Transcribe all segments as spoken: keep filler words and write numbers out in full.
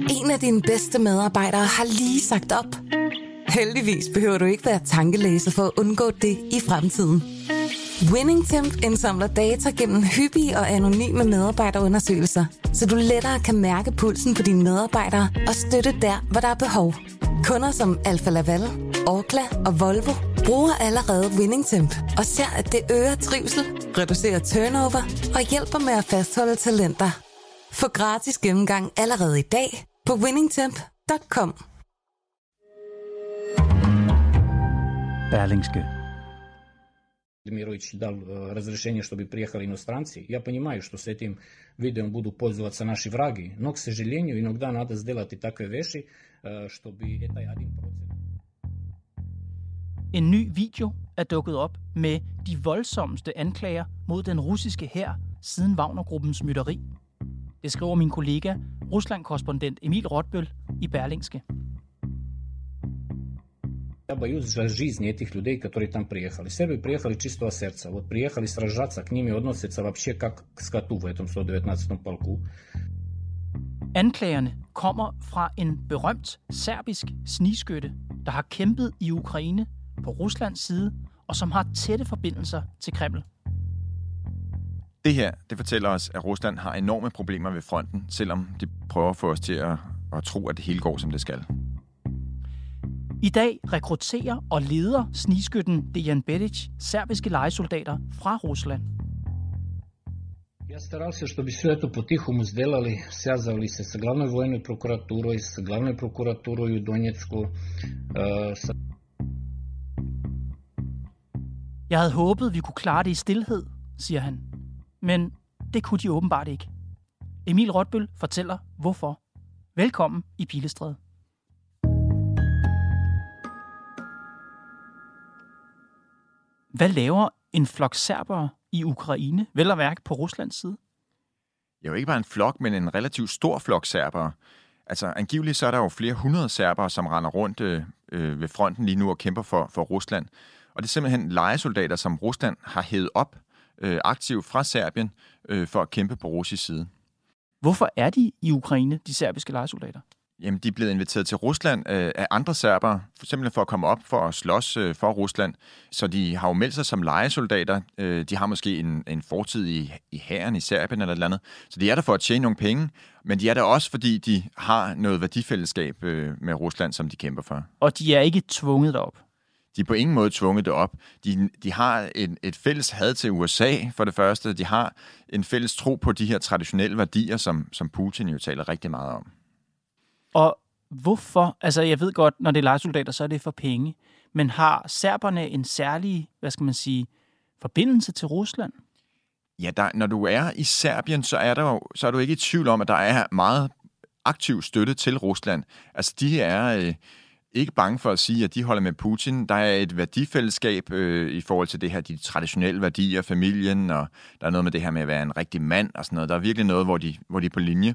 En af dine bedste medarbejdere har lige sagt op. Heldigvis behøver du ikke være tankelæser for at undgå det i fremtiden. WinningTemp indsamler data gennem hyppige og anonyme medarbejderundersøgelser, så du lettere kan mærke pulsen på dine medarbejdere og støtte der, hvor der er behov. Kunder som Alfa Laval, Orkla og Volvo bruger allerede WinningTemp og ser, at det øger trivsel, reducerer turnover og hjælper med at fastholde talenter. Få gratis gennemgang allerede i dag på winningtemp punktum com. Berlingske. Мирович дал разрешение, чтобы приехали иностранцы. Я понимаю, что с этим видеом будут пользоваться наши враги, но, к сожалению, иногда надо сделать и такие вещи, чтобы это один процент. En ny video er dukket op med de voldsomste anklager mod den russiske hær siden Wagnergruppens mytteri. Det skriver min kollega, Rusland-korrespondent Emil Rotbøl i Berlingske. Я боюсь за жизнь этих людей, которые там приехали. Сербы приехали чистого сердца. Вот приехали сражаться, к ними относятся вообще как к скоту в этом сто девятнадцатом полку. Anklagerne kommer fra en berømt serbisk snigskytte, der har kæmpet i Ukraine på Ruslands side, og som har tætte forbindelser til Kreml. Det her, det fortæller os, at Rusland har enorme problemer ved fronten, selvom de prøver at få os til at, at tro, at det hele går, som det skal. I dag rekrutterer og leder snigskytten Dejan Bedic serbiske lejesoldater fra Rusland. Я старался, чтобы все это по-тихому сделали, связывали се с главной военной прокуратурой, с главной прокуратурой в Донецку. Jeg havde håbet, vi kunne klare det i stilhed, siger han. Men det kunne de åbenbart ikke. Emil Rotbøl fortæller, hvorfor. Velkommen i Pilestræde. Hvad laver en flok serbere i Ukraine, vel at mærke på Ruslands side? Jo, ikke bare en flok, men en relativt stor flok serbere. Altså angiveligt så er der jo flere hundrede serbere, som render rundt øh, ved fronten lige nu og kæmper for, for Rusland. Og det er simpelthen lejesoldater, som Rusland har hævet op øh, aktivt fra Serbien øh, for at kæmpe på russisk side. Hvorfor er de i Ukraine, de serbiske lejesoldater? Jamen, de er blevet inviteret til Rusland øh, af andre serbere, simpelthen for at komme op for at slås øh, for Rusland. Så de har jo meldt sig som lejesoldater. Øh, de har måske en, en fortid i, i hæren i Serbien eller et eller andet. Så de er der for at tjene nogle penge, men de er der også, fordi de har noget værdifællesskab øh, med Rusland, som de kæmper for. Og de er ikke tvunget derop? De er på ingen måde tvunget derop. De, de har et, et fælles had til U S A, for det første. De har en fælles tro på de her traditionelle værdier, som, som Putin jo taler rigtig meget om. Og hvorfor? Altså, jeg ved godt, når det er lejesoldater, så er det for penge. Men har serberne en særlig, hvad skal man sige, forbindelse til Rusland? Ja, der, når du er i Serbien, så er, der jo, så er du ikke i tvivl om, at der er meget aktiv støtte til Rusland. Altså, de er øh, ikke bange for at sige, at de holder med Putin. Der er et værdifællesskab øh, i forhold til det her, de traditionelle værdier, familien, og der er noget med det her med at være en rigtig mand og sådan noget. Der er virkelig noget, hvor de, hvor de er på linje.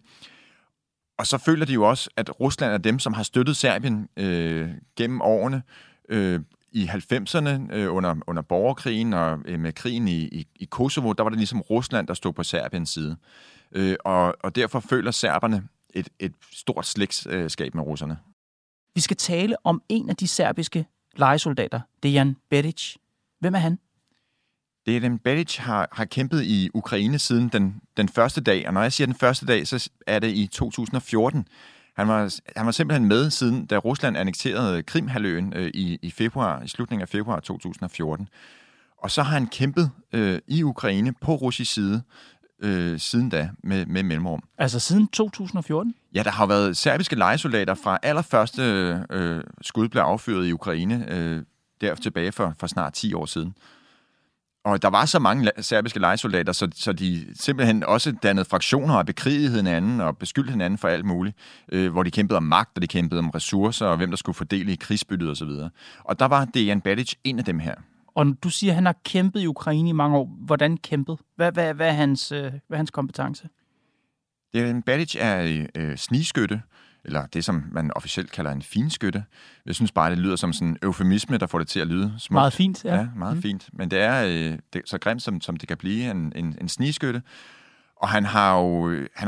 Og så føler de jo også, at Rusland er dem, som har støttet Serbien øh, gennem årene. Øh, I halvfemserne øh, under, under borgerkrigen og øh, med krigen i, i, i Kosovo, der var det ligesom Rusland, der stod på Serbiens side. Øh, og, og derfor føler serberne et, et stort slægtskab med russerne. Vi skal tale om en af de serbiske lejesoldater, Dejan Bedic. Hvem er han? Dejan Bedic har, har kæmpet i Ukraine siden den, den første dag, og når jeg siger den første dag, så er det i to tusind og fjorten. Han var, han var simpelthen med siden, da Rusland annekterede Krimhalvøen øh, i, i februar, i slutningen af februar to tusind og fjorten. Og så har han kæmpet øh, i Ukraine på russisk side øh, siden da med, med mellemrum. Altså siden to tusind og fjorten? Ja, der har været serbiske lejesoldater fra allerførste øh, skud blev affyret i Ukraine, øh, der tilbage for, for snart ti år siden. Og der var så mange serbiske lejesoldater, så, så de simpelthen også dannede fraktioner og bekrigede hinanden og beskyldte hinanden for alt muligt, øh, hvor de kæmpede om magt, og de kæmpede om ressourcer, og hvem der skulle fordele i krigsbyttet osv. Og, og der var Dejan Bedic en af dem her. Og du siger, at han har kæmpet i Ukraine i mange år. Hvordan kæmpet? Hvad, hvad, hvad, er, hans, hvad er hans kompetence? Dejan Bedic er øh, snigskytte, eller det, som man officielt kalder en finskytte. Jeg synes bare, det lyder som sådan en eufemisme, der får det til at lyde smukt. Meget fint, ja. Ja, meget mm. fint. Men det er, øh, det er så grimt, som, som det kan blive, en, en, en snigskytte. Og han har jo han har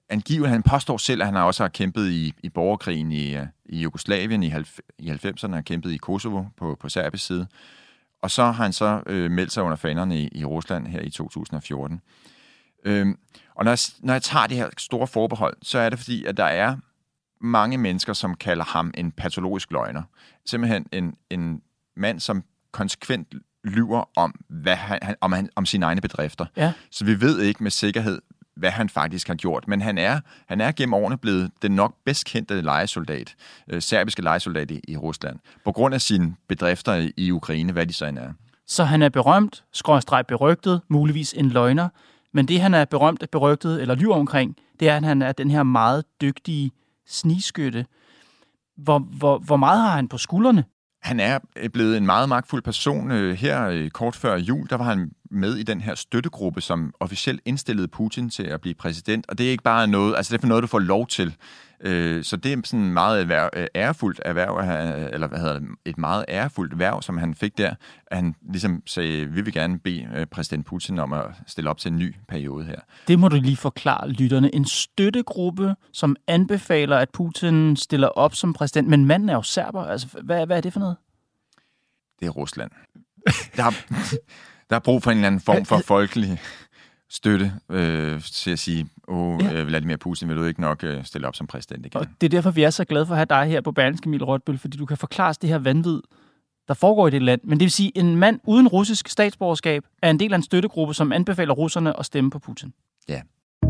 angiveligt, han påstår selv, at han også har kæmpet i, i borgerkrigen i, i Jugoslavien i, i halvfemserne, har kæmpet i Kosovo på, på serbisk side. Og så har han så øh, meldt sig under fanerne i, i Rusland her i to tusind og fjorten. Øhm, og når jeg, når jeg tager det her store forbehold, så er det fordi, at der er mange mennesker, som kalder ham en patologisk løgner. Simpelthen en, en mand, som konsekvent lyver om, hvad han, om, han, om sine egne bedrifter. Ja. Så vi ved ikke med sikkerhed, hvad han faktisk har gjort. Men han er, han er gennem årene blevet den nok bedst kendte lejesoldat, øh, serbiske lejesoldat i, i Rusland, på grund af sine bedrifter i, i Ukraine, hvad de så end er. Så han er berømt, skråstreg berygtet, muligvis en løgner, men det han er berømt, berygtet eller lyver omkring, det er, at han er den her meget dygtige snigskytte. Hvor, hvor, hvor meget har han på skuldrene? Han er blevet en meget magtfuld person. Her kort før jul, der var han med i den her støttegruppe, som officielt indstillede Putin til at blive præsident. Og det er ikke bare noget, altså det er for noget, du får lov til. Så det er sådan meget erhverv, ærefuldt erhverv, eller hvad hedder det, et meget ærefuldt erhverv, som han fik der. Han ligesom sagde, vi vil gerne bede præsident Putin om at stille op til en ny periode her. Det må du lige forklare lytterne. En støttegruppe, som anbefaler, at Putin stiller op som præsident, men manden er jo serber. Altså, hvad, hvad er det for noget? Det er Rusland. Der er, der er brug for en eller anden form for folkelig støtte øh, til at sige, åh, ja. øh, Vladimir Putin, vil du ikke nok øh, stille op som præsident igen? Og det er derfor, vi er så glade for at have dig her på Berlingske, Emil Rotbøl, fordi du kan forklare det her vanvid, der foregår i det land. Men det vil sige, en mand uden russisk statsborgerskab er en del af en støttegruppe, som anbefaler russerne at stemme på Putin. Ja.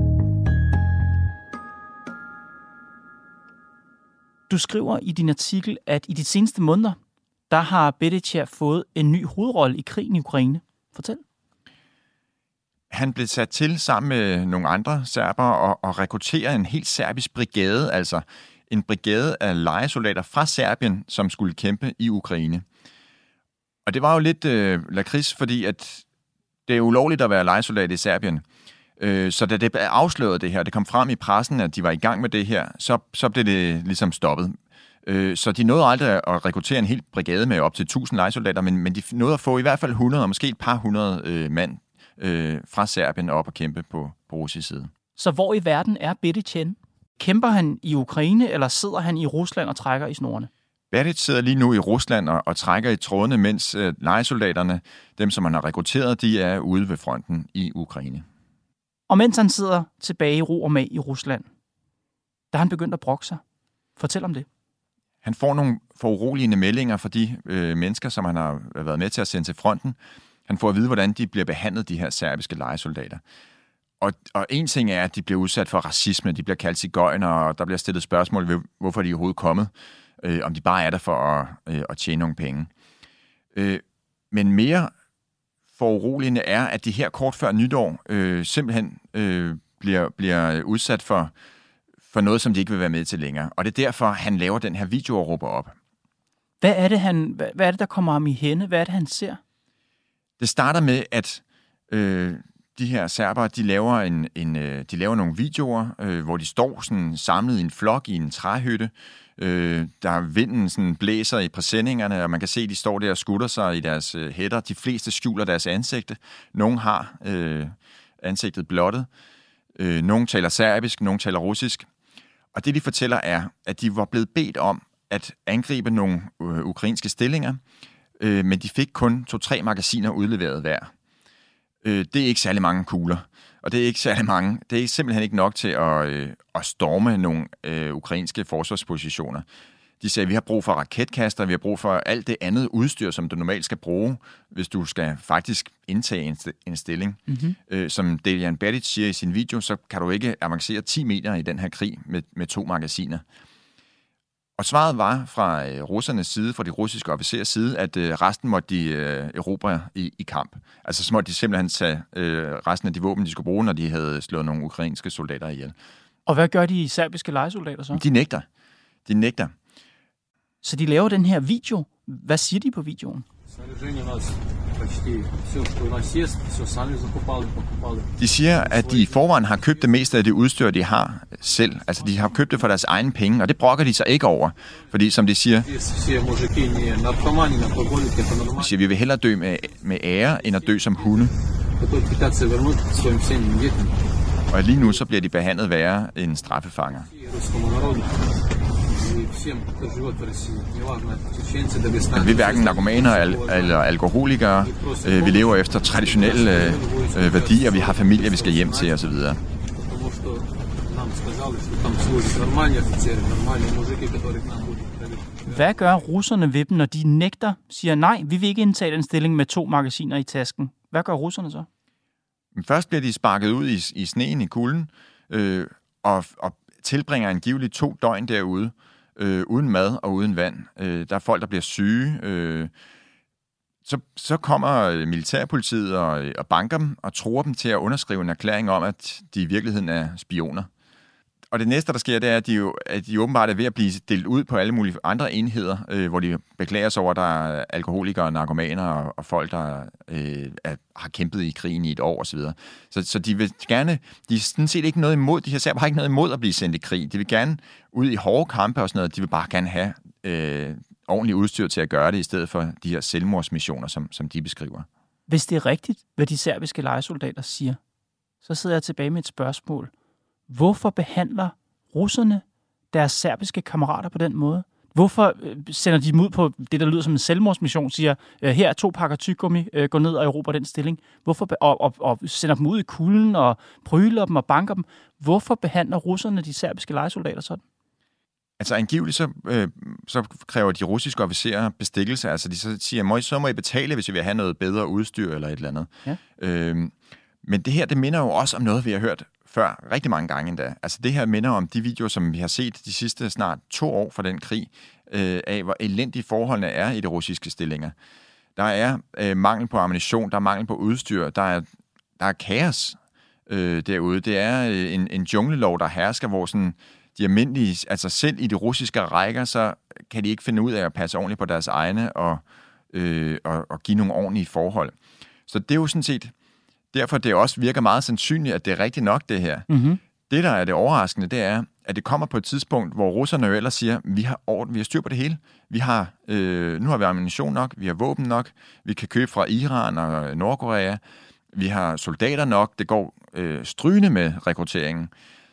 Du skriver i din artikel, at i de seneste måneder, der har Bedichev fået en ny hovedrolle i krigen i Ukraine. Fortæl. Han blev sat til sammen med nogle andre serbere og, og rekrutterede en helt serbisk brigade, altså en brigade af lejesoldater fra Serbien, som skulle kæmpe i Ukraine. Og det var jo lidt øh, lakrids, fordi at det er ulovligt at være lejesoldat i Serbien. Øh, så da det blev afsløret det her, det kom frem i pressen, at de var i gang med det her, så, så blev det ligesom stoppet. Øh, så de nåede aldrig at rekruttere en hel brigade med op til tusind lejesoldater, men, men de nåede at få i hvert fald hundrede, og måske et par hundrede øh, mand øh, fra Serbien op og kæmpe på, på russisk side. Så hvor i verden er Bedichev? Kæmper han i Ukraine, eller sidder han i Rusland og trækker i snorene? Bedichev sidder lige nu i Rusland og, og trækker i trådene, mens øh, lejesoldaterne, dem som han har rekrutteret, de er ude ved fronten i Ukraine. Og mens han sidder tilbage i ro og mag i Rusland, der har han begyndt at brokke sig. Fortæl om det. Han får nogle foruroligende meldinger fra de øh, mennesker, som han har været med til at sende til fronten. Han får at vide, hvordan de bliver behandlet, de her serbiske lejesoldater. Og, og en ting er, at de bliver udsat for racisme, de bliver kaldt sigøjner, og der bliver stillet spørgsmål ved, hvorfor de er overhovedet kommet, øh, om de bare er der for at, øh, at tjene nogle penge. Øh, men mere foruroligende er, at de her kort før nytår øh, simpelthen øh, bliver, bliver udsat for, for noget, som de ikke vil være med til længere. Og det er derfor, han laver den her video og råber op. Hvad er det, han, hvad, hvad er det der kommer ham i hænde? Hvad er det, han ser? Det starter med, at øh, de her serbere, de laver, en, en, øh, de laver nogle videoer, øh, hvor de står sådan samlet i en flok i en træhytte. Øh, der vinden sådan blæser i præsendingerne, og man kan se, at de står der og skutter sig i deres øh, hætter. De fleste skjuler deres ansigte. Nogle har øh, ansigtet blottet. Øh, nogle taler serbisk, nogle taler russisk. Og det, de fortæller, er, at de var blevet bedt om at angribe nogle øh, ukrainske stillinger, øh, men de fik kun to-tre magasiner udleveret hver. Øh, det er ikke særlig mange kugler, og det er ikke særlig mange. Det er simpelthen ikke nok til at, øh, at storme nogle øh, ukrainske forsvarspositioner. De sagde, at vi har brug for raketkaster, vi har brug for alt det andet udstyr, som du normalt skal bruge, hvis du skal faktisk indtage en, st- en stilling. Mm-hmm. Øh, som Dejan Bedic siger i sin video, så kan du ikke avancere ti meter i den her krig med, med to magasiner. Og svaret var fra øh, russernes side, fra de russiske officerers side, at øh, resten måtte de øh, erobre i, i kamp. Altså så måtte de simpelthen tage øh, resten af de våben, de skulle bruge, når de havde slået nogle ukrainske soldater ihjel. Og hvad gør de serbiske lejesoldater så? De nægter. De nægter. Så de laver den her video. Hvad siger de på videoen? De siger, at de i forvejen har købt det meste af det udstyr, de har selv. Altså, de har købt det for deres egne penge, og det brokker de sig ikke over. Fordi, som de siger, de siger, vi vil hellere dø med, med ære, end at dø som hunde. Og lige nu så bliver de behandlet værre end straffefanger. Vi er hverken narkomaner eller alkoholikere. Vi lever efter traditionelle øh, værdier. Vi har familie, vi skal hjem til osv. Hvad gør russerne ved dem, når de nægter, siger nej, vi vil ikke indtage den stilling med to magasiner i tasken? Hvad gør russerne så? Først bliver de sparket ud i, i sneen, i kulden, øh, og, og tilbringer angiveligt to døgn derude, øh, uden mad og uden vand. Øh, der er folk, der bliver syge. Øh, så, så kommer militærpolitiet og, og banker dem og tror dem til at underskrive en erklæring om, at de i virkeligheden er spioner. Og det næste, der sker, det er, at de, jo, at de åbenbart er ved at blive delt ud på alle mulige andre enheder, øh, hvor de beklager sig over, at der er alkoholikere, narkomaner og, og folk, der øh, er, har kæmpet i krigen i et år osv. Så, så de vil gerne, de er sådan set ikke noget imod, de her serber har ikke noget imod at blive sendt i krig. De vil gerne ud i hårde kampe og sådan noget. De vil bare gerne have øh, ordentligt udstyr til at gøre det, i stedet for de her selvmordsmissioner, som, som de beskriver. Hvis det er rigtigt, hvad de serbiske lejesoldater siger, så sidder jeg tilbage med et spørgsmål. Hvorfor behandler russerne deres serbiske kammerater på den måde? Hvorfor sender de dem ud på det, der lyder som en selvmordsmission, siger, her er to pakker tyggegummi, gå ned og erobre den stilling. Hvorfor, og, og, og sender dem ud i kulden og pryler dem og banker dem. Hvorfor behandler russerne de serbiske lejesoldater sådan? Altså angiveligt så, øh, så kræver de russiske officerer bestikkelse. Altså de så siger, så må I betale, hvis I vil have noget bedre udstyr eller et eller andet. Ja. Øh, men det her, det minder jo også om noget, vi har hørt før, rigtig mange gange endda. Altså det her minder om de videoer, som vi har set de sidste snart to år fra den krig, øh, af hvor elendige forholdene er i de russiske stillinger. Der er øh, mangel på ammunition, der er mangel på udstyr, der er, der er kaos øh, derude. Det er øh, en, en junglelov, der hersker, hvor sådan, de almindelige, altså selv i de russiske rækker, så kan de ikke finde ud af at passe ordentligt på deres egne og, øh, og, og give nogle ordentlige forhold. Så det er jo sådan set derfor det også virker meget sandsynligt, at det er rigtigt nok, det her. Mm-hmm. Det, der er det overraskende, det er, at det kommer på et tidspunkt, hvor russerne jo ellers siger, vi har orden, vi har styr på det hele. Vi har, øh, nu har vi ammunition nok, vi har våben nok, vi kan købe fra Iran og Nordkorea, vi har soldater nok, det går øh, strygende med rekrutteringen.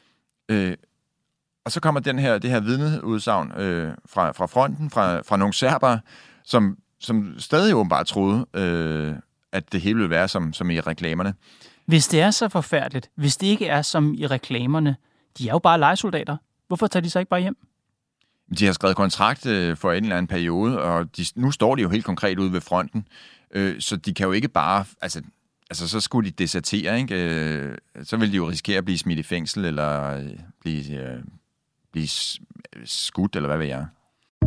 Øh, og så kommer den her, det her vidneudsagn øh, fra, fra fronten, fra, fra nogle serbere, som, som stadig åbenbart troede, øh, at det hele vil være som, som i reklamerne. Hvis det er så forfærdeligt, hvis det ikke er som i reklamerne, de er jo bare lejesoldater. Hvorfor tager de så ikke bare hjem? De har skrevet kontrakt øh, for en eller anden periode, og de, nu står de jo helt konkret ude ved fronten, øh, så de kan jo ikke bare... Altså, altså så skulle de desertere, ikke? Øh, så vil de jo risikere at blive smidt i fængsel, eller øh, blive, øh, blive skudt, eller hvad ved jeg.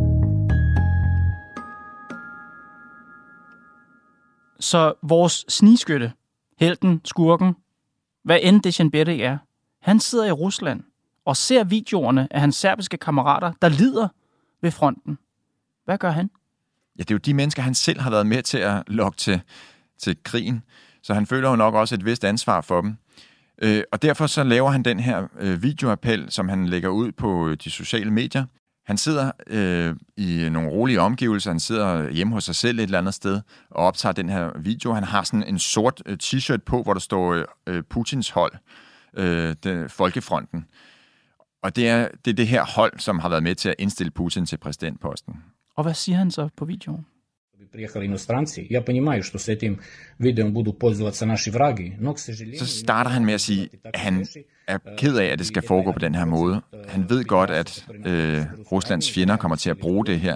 Så vores snigskytte, helten, skurken, hvad end Dushanbe er, han sidder i Rusland og ser videoerne af hans serbiske kammerater, der lider ved fronten. Hvad gør han? Ja, det er jo de mennesker, han selv har været med til at lokke til, til krigen, så han føler jo nok også et vist ansvar for dem. Øh, og derfor så laver han den her øh, videoappel, som han lægger ud på de sociale medier. Han sidder øh, i nogle rolige omgivelser, han sidder hjemme hos sig selv et eller andet sted og optager den her video. Han har sådan en sort øh, t-shirt på, hvor der står øh, Putins hold, øh, den, Folkefronten. Og det er, det er det her hold, som har været med til at indstille Putin til præsidentposten. Og hvad siger han så på videoen? Så starter han med at sige, at han er ked af, at det skal foregå på den her måde. Han ved godt, at øh, Ruslands fjender kommer til at bruge det her.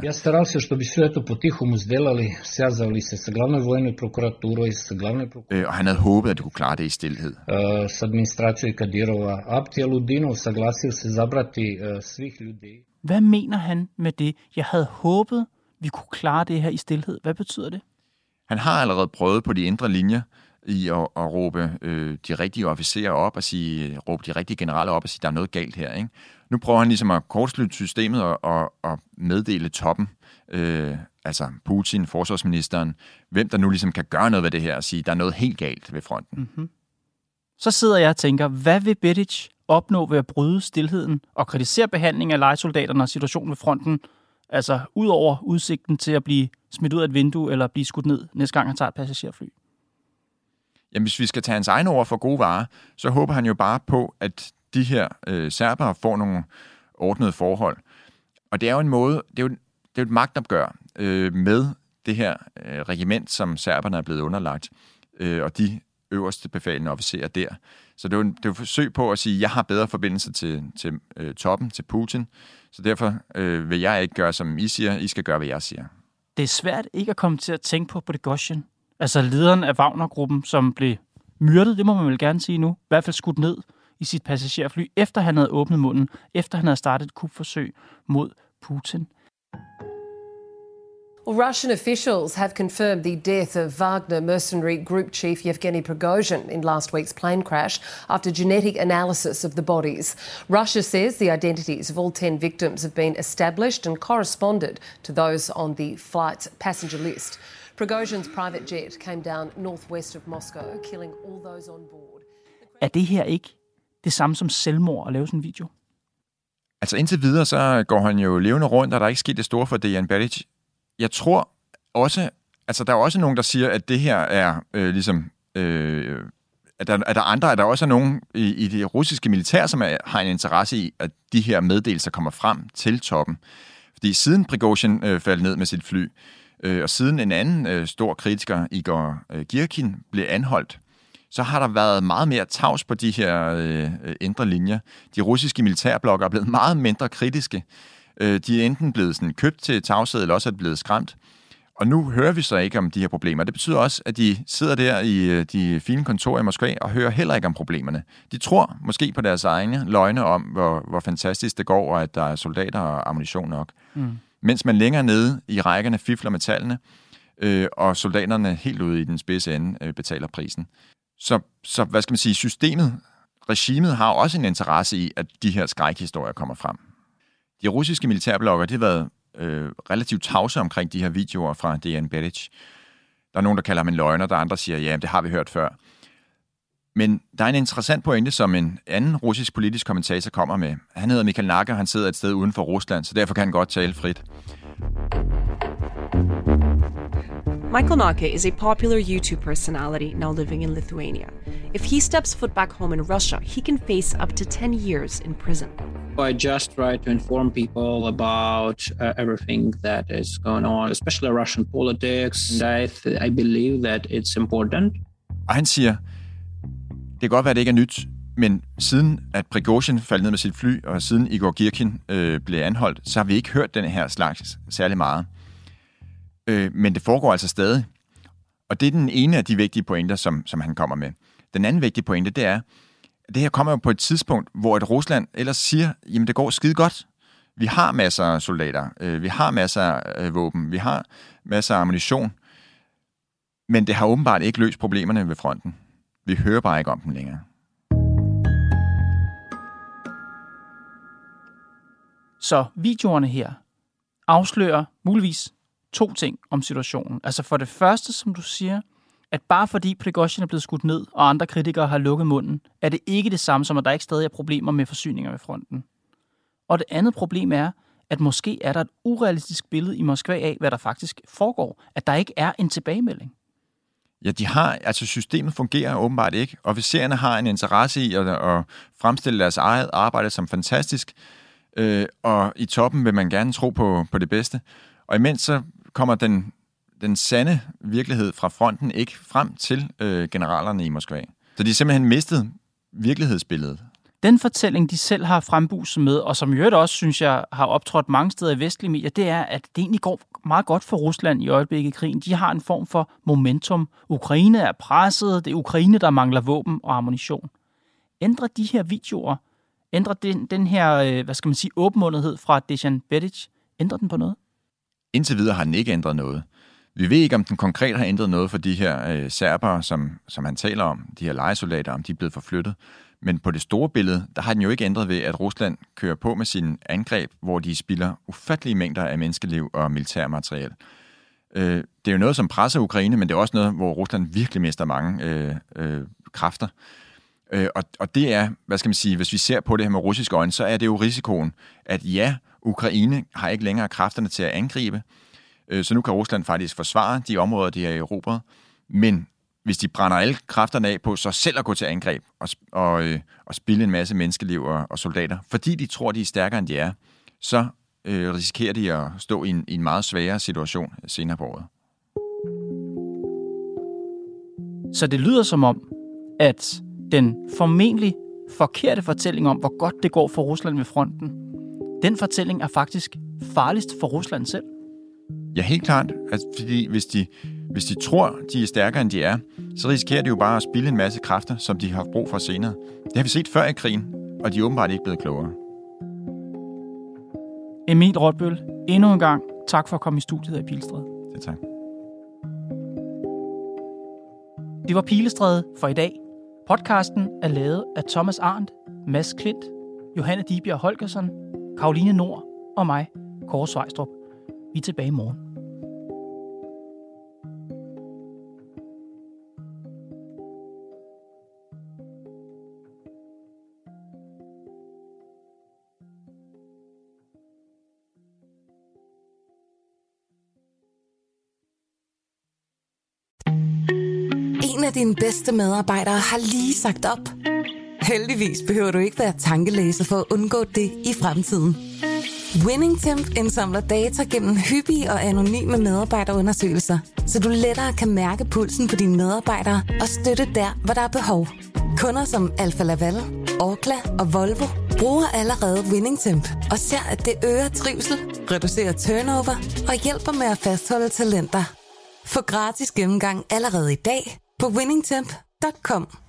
Øh, og han havde håbet, at de kunne klare det i stilhed. Hvad mener han med det? Jeg havde håbet, vi kunne klare det her i stilhed. Hvad betyder det? Han har allerede prøvet på de indre linjer i at, at råbe øh, de rigtige officerer op og sige, råbe de rigtige generaler op og sige, der er noget galt her. Ikke? Nu prøver han ligesom at kortslutte systemet og, og, og meddele toppen, øh, altså Putin, forsvarsministeren, hvem der nu ligesom kan gøre noget ved det her og sige, der er noget helt galt ved fronten. Mm-hmm. Så sidder jeg og tænker, hvad vil Bedic opnå ved at bryde stilheden og kritisere behandlingen af lejesoldaterne og situationen ved fronten, altså ud over udsigten til at blive smidt ud af et vindue eller blive skudt ned næste gang han tager et passagerfly? jamen hvis vi skal tage hans egne ord for gode varer, så håber han jo bare på, at de her øh, serbere får nogle ordnede forhold. Og det er jo en måde, det er jo, det er jo et magtopgør øh, med det her øh, regiment, som serberne er blevet underlagt, øh, og de øverste befalende officerer der. Så det er jo, det er jo et forsøg på at sige, at jeg har bedre forbindelse til, til øh, toppen, til Putin, så derfor øh, vil jeg ikke gøre, som I siger, I skal gøre, hvad jeg siger. Det er svært ikke at komme til at tænke på Prigozhin, altså lederen af Wagner-gruppen, som blev myrdet, det må man vel gerne sige nu, i hvert fald skudt ned i sit passagerfly, efter han havde åbnet munden, efter han havde startet et kupforsøg mod Putin. Well, Russian officials have confirmed the death of Wagner mercenary group chief Yevgeny Prigozhin in last week's plane crash after genetic analysis of the bodies. Russia says the identities of all ten victims have been established and corresponded to those on the flight's passenger list. Prigozhin's private jet came down northwest of Moscow, killing all those on board. Er det her ikke det samme som selvmord at lave sådan en video? Altså indtil videre, så går han jo levende rundt, og der er ikke sket det store for Dejan Bedic. Jeg tror også, altså der er også nogen, der siger, at det her er øh, ligesom, øh, at, der, at der andre, at der også er nogen i, i det russiske militær, som er, har en interesse i, at de her meddelelser kommer frem til toppen. Fordi siden Prigozhin øh, faldt ned med sit fly, øh, og siden en anden øh, stor kritiker, Igor øh, Girkin, blev anholdt, så har der været meget mere tavs på de her øh, indre linjer. De russiske militærblokker er blevet meget mindre kritiske. De er enten blevet sådan købt til tavshed, eller også er det blevet skræmt. Og nu hører vi så ikke om de her problemer. Det betyder også, at de sidder der i de fine kontorer i Moskva og hører heller ikke om problemerne. De tror måske på deres egne løgne om, hvor, hvor fantastisk det går, og at der er soldater og ammunition nok. Mm. Mens man længere nede i rækkerne fifler med tallene, øh, og soldaterne helt ude i den spidse ende øh, betaler prisen. Så, så hvad skal man sige, systemet, regimet har også en interesse i, at de her skrækhistorier kommer frem. De russiske militærblokker, de har været øh, relativt tavse omkring de her videoer fra Dejan Bedic. Der er nogen, der kalder ham en løgner, der andre siger, ja, det har vi hørt før. Men der er en interessant pointe, som en anden russisk politisk kommentator kommer med. Han hedder Michael Nacker, han sidder et sted uden for Rusland, så derfor kan han godt tale frit. Michael Nacker is a popular YouTube personality now living in Lithuania. If he steps foot back home in Russia, he can face up to ten years in prison. I just try to inform people about uh, everything that is going on, especially Russian politics. And I, th- I believe that it's important. Og han siger, det kan godt være, at det ikke er nyt, men siden at Prigozhin faldt ned med sit fly, og siden Igor Girkin øh, blev anholdt, så har vi ikke hørt den her slags særlig meget. Øh, men det foregår altså stadig. Og det er den ene af de vigtige pointer, som, som han kommer med. Den anden vigtige pointe, det er, at det her kommer jo på et tidspunkt, hvor et Rusland ellers siger, jamen det går skide godt. Vi har masser af soldater, øh, vi har masser af våben, vi har masser af ammunition, men det har åbenbart ikke løst problemerne ved fronten. Vi hører bare ikke om dem længere. Så videoerne her afslører muligvis to ting om situationen. Altså for det første, som du siger, at bare fordi Prigozhin er blevet skudt ned, og andre kritikere har lukket munden, er det ikke det samme som, at der ikke stadig er problemer med forsyninger ved fronten. Og det andet problem er, at måske er der et urealistisk billede i Moskva af, hvad der faktisk foregår. At der ikke er en tilbagemelding. Ja, de har, altså systemet fungerer åbenbart ikke. Officererne har en interesse i at, at fremstille deres eget arbejde som fantastisk, øh, og i toppen vil man gerne tro på, på det bedste. Og imens så kommer den, den sande virkelighed fra fronten ikke frem til øh, generalerne i Moskva. Så de har simpelthen mistet virkelighedsbilledet. Den fortælling, de selv har frembuset med, og som i øvrigt også, synes jeg, har optrådt mange steder i vestlige medier, det er, at det egentlig går meget godt for Rusland i øjeblikket i krigen. De har en form for momentum. Ukraine er presset, det er Ukraine, der mangler våben og ammunition. Ændrer de her videoer, ændrer den, den her, hvad skal man sige, åbenmundethed fra Dejan Bedic, ændrer den på noget? Indtil videre har den ikke ændret noget. Vi ved ikke, om den konkret har ændret noget for de her øh, serbere, som, som han taler om, de her lejesoldater, om de er blevet forflyttet. Men på det store billede, der har den jo ikke ændret ved, at Rusland kører på med sine angreb, hvor de spilder ufattelige mængder af menneskeliv og militærmateriel. Øh, det er jo noget, som presser Ukraine, men det er også noget, hvor Rusland virkelig mister mange øh, øh, kræfter. Øh, og, og det er, hvad skal man sige, hvis vi ser på det her med russiske øjne, så er det jo risikoen, at ja, Ukraine har ikke længere kræfterne til at angribe, øh, så nu kan Rusland faktisk forsvare de områder, de er erobret, men hvis de brænder alle kræfterne af på så selv at gå til angreb og, og, øh, og spilde en masse menneskeliv og, og soldater, fordi de tror, de er stærkere, end de er, så øh, risikerer de at stå i en, i en meget sværere situation senere på året. Så det lyder som om, at den formentlig forkerte fortælling om, hvor godt det går for Rusland ved fronten, den fortælling er faktisk farligst for Rusland selv. Ja, helt klart. Altså, fordi hvis de, hvis de tror, de er stærkere, end de er, så risikerer de jo bare at spilde en masse kræfter, som de har brug for senere. Det har vi set før i krigen, og de er åbenbart ikke blevet klogere. Emil Rotbøl, endnu en gang tak for at komme i studiet af Pilestræde. Ja, tak. Det var Pilestræde for i dag. Podcasten er lavet af Thomas Arndt, Mads Klint, Johanne Dibjerg Holgersen, Karoline Nord og mig, Kåre Svejstrup. Vi er tilbage i morgen. En af dine bedste medarbejdere har lige sagt op. Heldigvis behøver du ikke være tankelæser for at undgå det i fremtiden. WinningTemp indsamler data gennem hyppige og anonyme medarbejderundersøgelser, så du lettere kan mærke pulsen på dine medarbejdere og støtte der, hvor der er behov. Kunder som Alfa Laval, Orkla og Volvo bruger allerede WinningTemp og ser, at det øger trivsel, reducerer turnover og hjælper med at fastholde talenter. Få gratis gennemgang allerede i dag på winningtemp punktum com.